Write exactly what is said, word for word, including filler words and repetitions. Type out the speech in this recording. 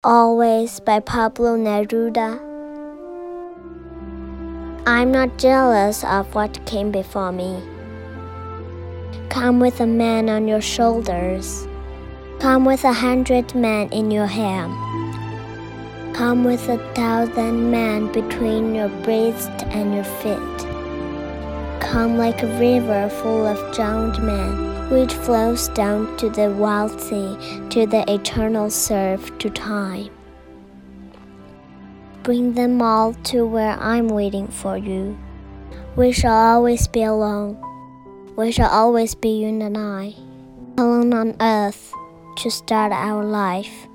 Always by Pablo Neruda. I'm not jealous of what came before me. Come with a man on your shoulders. Come with a hundred men in your hand. Come with a thousand men between your breast and your feet. Come like a river full of drowned men, which flows down to the wild sea, to the eternal surf, to time. Bring them all to where I'm waiting for you. We shall always be alone. We shall always be you and I, alone on earth to start our life.